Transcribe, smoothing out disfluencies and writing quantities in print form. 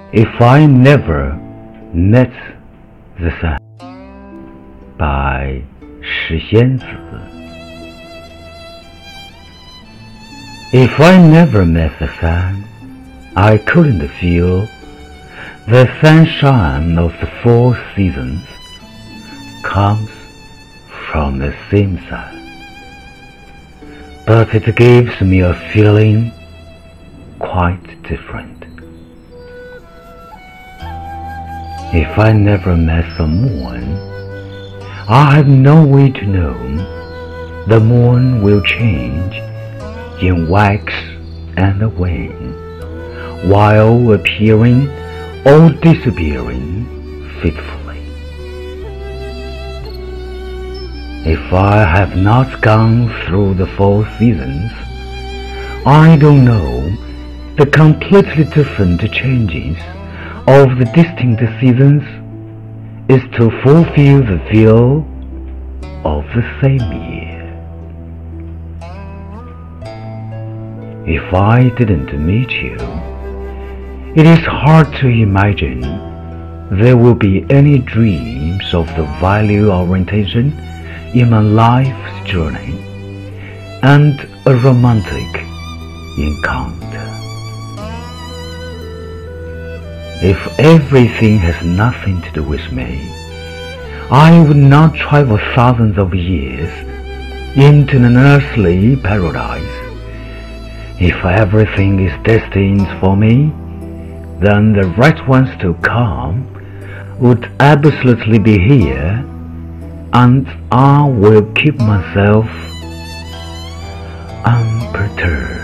If I never met the sun by 石仙子 If I never met the sun, I couldn't feel the sunshine of the 4 seasons comes from the same sun, but it gives me a feeling quite different. If I never met the moon, I have no way to know the moon will change in wax and wane, while appearing or disappearing fitfully. If I have not gone through the 4 seasons, I don't know the completely different changes of the distinct seasons is to fulfill the feel of the same year. If I didn't meet you, it is hard to imagine there will be any dreams of the value orientation in my life's journey and a romantic encounter. If everything has nothing to do with me, I would not travel thousands of years into an earthly paradise. If everything is destined for me, then the right ones to come would absolutely be here, and I will keep myself unperturbed.